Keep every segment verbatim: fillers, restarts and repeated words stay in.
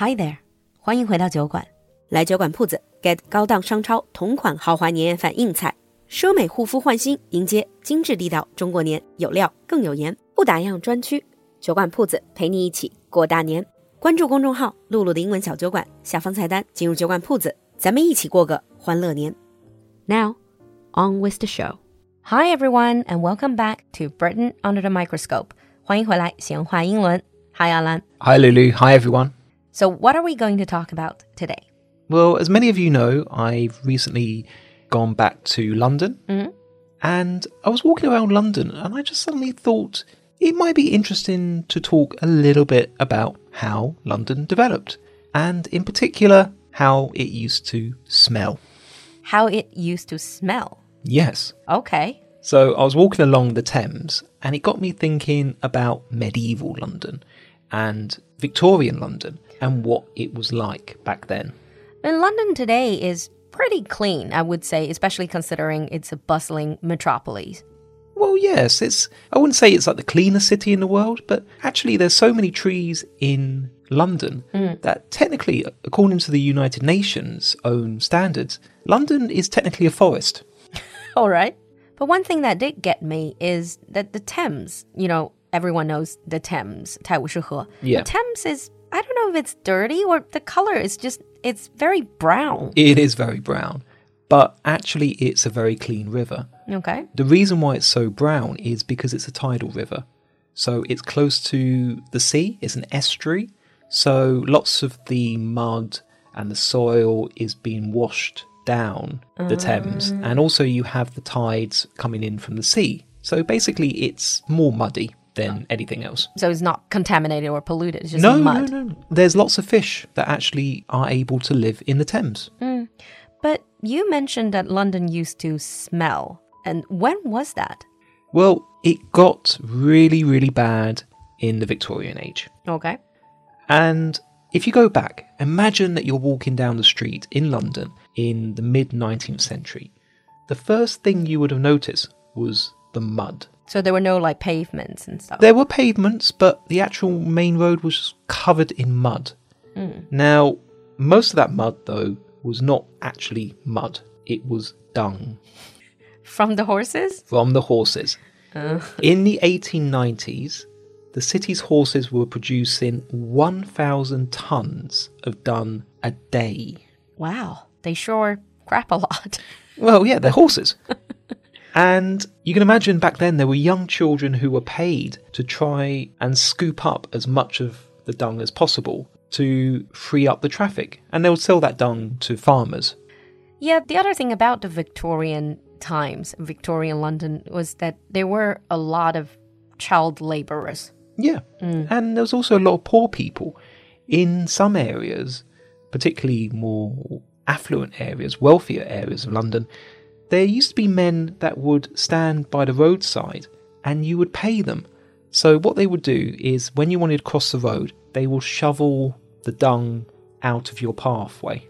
Hi there， 欢迎回到酒馆。来酒馆铺子 get 高档商超同款豪华年夜饭硬菜，奢美护肤焕新，迎接精致地道中国年，有料更有颜，不打烊专区。酒馆铺子陪你一起过大年。关注公众号露露的英文小酒馆，下方菜单进入酒馆铺子，咱们一起过个欢乐年。Now, on with the show. Hi everyone and welcome back to Britain Under the Microscope. 欢迎回来闲话英伦。Hi Alan. Hi Lulu. Hi everyone. So what are we going to talk about today? Well, as many of you know, I've recently gone back to London. Mm-hmm. And I was walking around London and I just suddenly thought it might be interesting to talk a little bit about how London developed. And in particular, how it used to smell. How it used to smell? Yes. Okay. So I was walking along the Thames and it got me thinking about medieval London and Victorian London and what it was like back then. And London today is pretty clean, I would say, especially considering it's a bustling metropolis. Well, yes, it's. I wouldn't say it's like the cleanest city in the world, but actually there's so many trees in London mm. that technically, according to the United Nations' own standards, London is technically a forest. All right. But one thing that did get me is that the Thames, you know, everyone knows the Thames, 泰晤士河. Yeah. The Thames is, I don't know if it's dirty or the color is just, it's very brown. It is very brown, but actually it's a very clean river. Okay. The reason why it's so brown is because it's a tidal river. So it's close to the sea, it's an estuary. So lots of the mud and the soil is being washed down the Thames. And also you have the tides coming in from the sea. So basically it's more muddy than anything else. So it's not contaminated or polluted, it's just no, mud. No, no, There's lots of fish that actually are able to live in the Thames. Mm. But you mentioned that London used to smell. And when was that? Well, it got really, really bad in the Victorian age. Okay. And if you go back, imagine that you're walking down the street in London in the mid-nineteenth century. The first thing you would have noticed was the mud. So there were no like pavements and stuff? There were pavements, but the actual main road was covered in mud. Mm. Now, most of that mud, though, was not actually mud. It was dung. From the horses? From the horses. Uh. In the eighteen nineties, the city's horses were producing one thousand tons of dung a day. Wow, they sure crap a lot. Well, yeah, they're horses. And you can imagine back then there were young children who were paid to try and scoop up as much of the dung as possible to free up the traffic. And they would sell that dung to farmers. Yeah, the other thing about the Victorian times, Victorian London, was that there were a lot of child labourers. Yeah, mm. And there was also a lot of poor people. In some areas, particularly more affluent areas, wealthier areas of London, there used to be men that would stand by the roadside and you would pay them. So what they would do is when you wanted to cross the road, they will shovel the dung out of your pathway.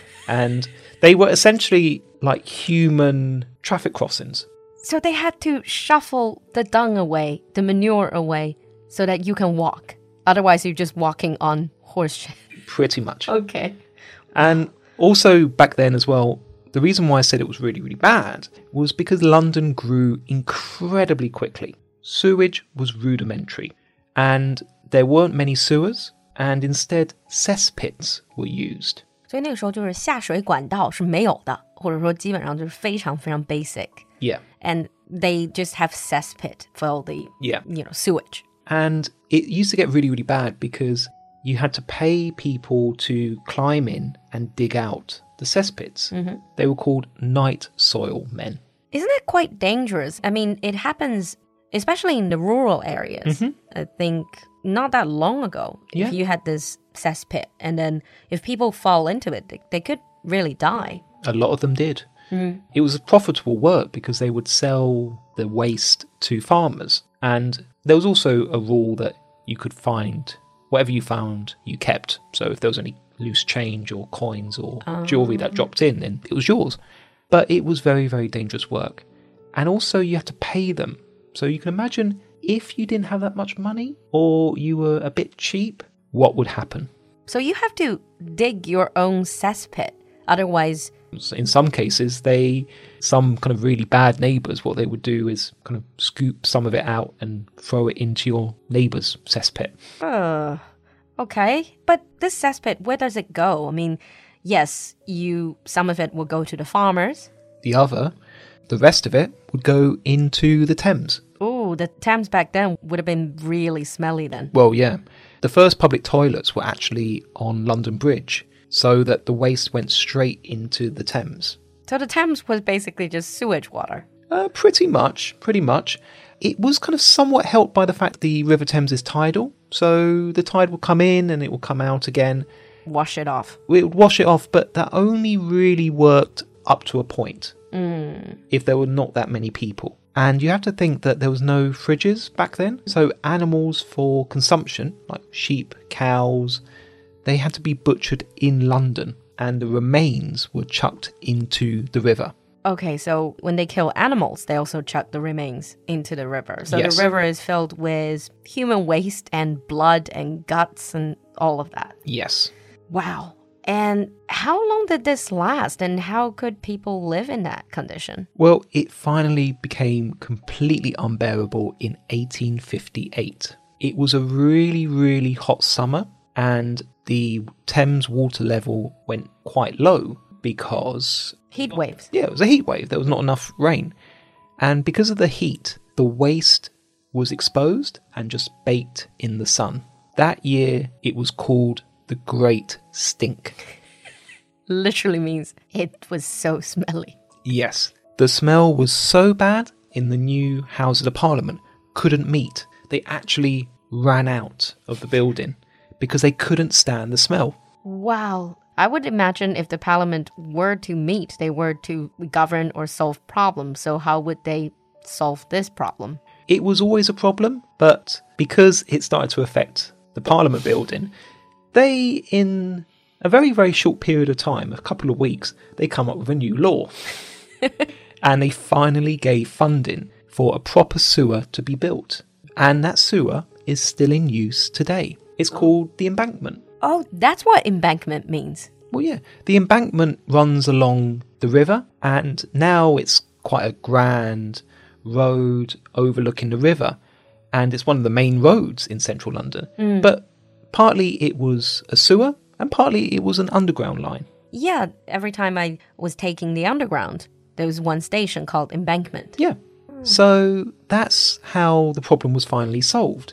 And they were essentially like human traffic crossings. So they had to shuffle the dung away, the manure away, so that you can walk. Otherwise, you're just walking on horse shit. Pretty much. Okay. And also back then as well, the reason why I said it was really, really bad was because London grew incredibly quickly. Sewage was rudimentary, and there weren't many sewers, and instead cesspits were used. 所以那个时候就是下水管道是没有的，或者说基本上就是非常非常 basic. Yeah. And they just have cesspit for all the yeah. you know, sewage. And it used to get really, really bad because you had to pay people to climb in and dig out the cesspits. Mm-hmm. They were called night soil men. Isn't that quite dangerous? I mean, it happens especially in the rural areas. Mm-hmm. I think not that long ago, yeah. if you had this cesspit, and then if people fall into it, they, they could really die. A lot of them did. Mm. It was a profitable work because they would sell the waste to farmers. And there was also a rule that you could find, whatever you found, you kept. So if there was any loose change or coins or um. jewellery that dropped in, then it was yours. But it was very, very dangerous work. And also you had to pay them. So you can imagine if you didn't have that much money or you were a bit cheap, what would happen? So you have to dig your own cesspit. Otherwise, in some cases, they, some kind of really bad neighbours, what they would do is kind of scoop some of it out and throw it into your neighbour's cesspit. Uh, okay. But this cesspit, where does it go? I mean, yes, you some of it will go to the farmers. The other, the rest of it, would go into the Thames. Oh, the Thames back then would have been really smelly then. Well, yeah. The first public toilets were actually on London Bridge, so that the waste went straight into the Thames. So the Thames was basically just sewage water? Uh, pretty much, pretty much. It was kind of somewhat helped by the fact the River Thames is tidal, so the tide will come in and it will come out again. Wash it off. It would wash it off, but that only really worked up to a point, mm. if there were not that many people. And you have to think that there was no fridges back then, so animals for consumption, like sheep, cows, they had to be butchered in London, and the remains were chucked into the river. Okay, so when they kill animals, they also chuck the remains into the river. So yes. The river is filled with human waste and blood and guts and all of that. Yes. Wow. And how long did this last, and how could people live in that condition? Well, it finally became completely unbearable in eighteen fifty-eight. It was a really, really hot summer, and the Thames water level went quite low because... Heat waves. Yeah, it was a heat wave. There was not enough rain. And because of the heat, the waste was exposed and just baked in the sun. That year, it was called the Great Stink. Literally means it was so smelly. Yes. The smell was so bad, in the new Houses of Parliament couldn't meet. They actually ran out of the building because they couldn't stand the smell. Wow. I would imagine if the parliament were to meet, they were to govern or solve problems. So how would they solve this problem? It was always a problem, but because it started to affect the parliament building, they, in a very, very short period of time, a couple of weeks, they come up with a new law. And they finally gave funding for a proper sewer to be built. And that sewer is still in use today. It's called the embankment. Oh, that's what embankment means. Well, yeah. The embankment runs along the river, and now it's quite a grand road overlooking the river. And it's one of the main roads in central London. Mm. But partly it was a sewer, and partly it was an underground line. Yeah, every time I was taking the underground, there was one station called Embankment. Yeah. So that's how the problem was finally solved.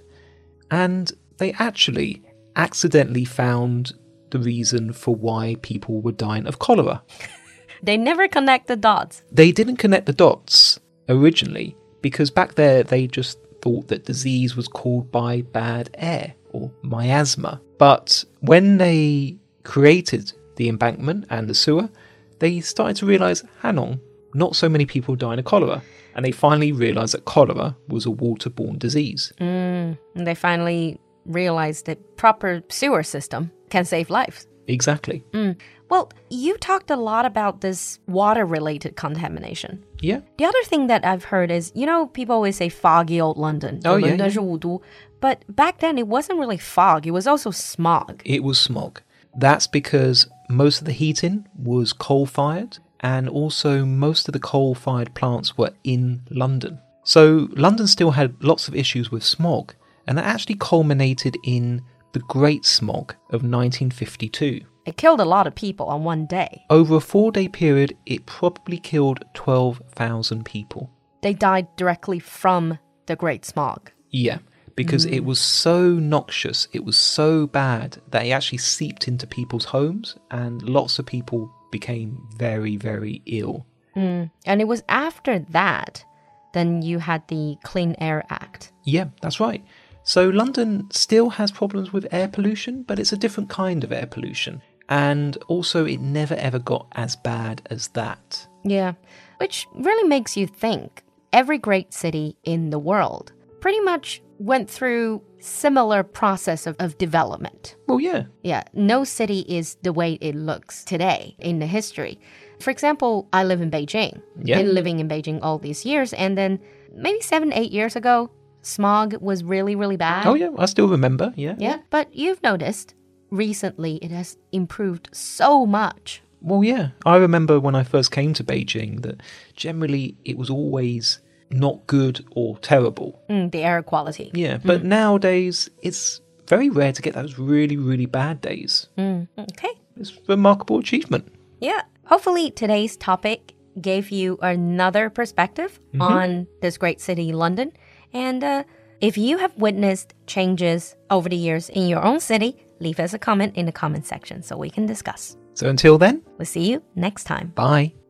And they actually accidentally found the reason for why people were dying of cholera. They never connect the dots. They didn't connect the dots originally because back there they just thought that disease was caused by bad air or miasma. But when they created the embankment and the sewer, they started to realise, hang on, not so many people dying of cholera. And they finally realised that cholera was a waterborne disease. Mm, and they finally realized that proper sewer system can save lives. Exactly. Mm. Well, you talked a lot about this water-related contamination. Yeah. The other thing that I've heard is, you know, people always say foggy old London. Oh, yeah, yeah. 伦敦是雾都. But back then, it wasn't really fog. It was also smog. It was smog. That's because most of the heating was coal-fired, and also most of the coal-fired plants were in London. So London still had lots of issues with smog, and that actually culminated in the Great Smog of nineteen fifty-two. It killed a lot of people on one day. Over a four-day period, it probably killed twelve thousand people. They died directly from the Great Smog. Yeah, because mm. it was so noxious, it was so bad that it actually seeped into people's homes, and lots of people became very, very ill. Mm. And it was after that, then you had the Clean Air Act. Yeah, that's right. So London still has problems with air pollution, but it's a different kind of air pollution. And also it never ever got as bad as that. Yeah, which really makes you think every great city in the world pretty much went through similar process of, of development. Well, yeah. Yeah, no city is the way it looks today in the history. For example, I live in Beijing. Yeah. Been living in Beijing all these years, and then maybe seven, eight years ago, smog was really, really bad. Oh, yeah, I still remember, yeah. Yeah, but you've noticed recently it has improved so much. Well, yeah. I remember when I first came to Beijing that generally it was always not good or terrible. Mm, the air quality. Yeah, but mm. nowadays it's very rare to get those really, really bad days. Mm, okay. It's a remarkable achievement. Yeah. Hopefully today's topic gave you another perspective mm-hmm. on this great city, London. And uh, if you have witnessed changes over the years in your own city, leave us a comment in the comment section so we can discuss. So until then, we'll see you next time. Bye.